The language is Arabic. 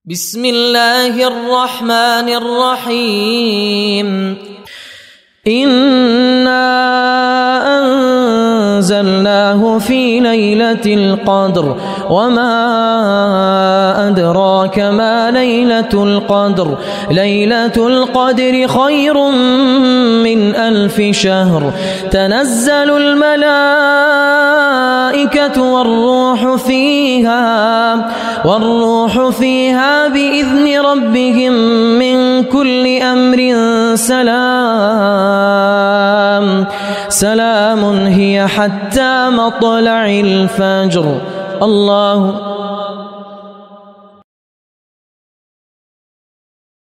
بسم الله الرحمن الرحيم إنا أنزلناه في ليلة القدر وما أدراك ما ليلة القدر ليلة القدر خير من 1000 شهر تنزل الملائكة والروح فيها بإذن ربهم من كل أمر سلام هي حتى مطلع الفجر. الله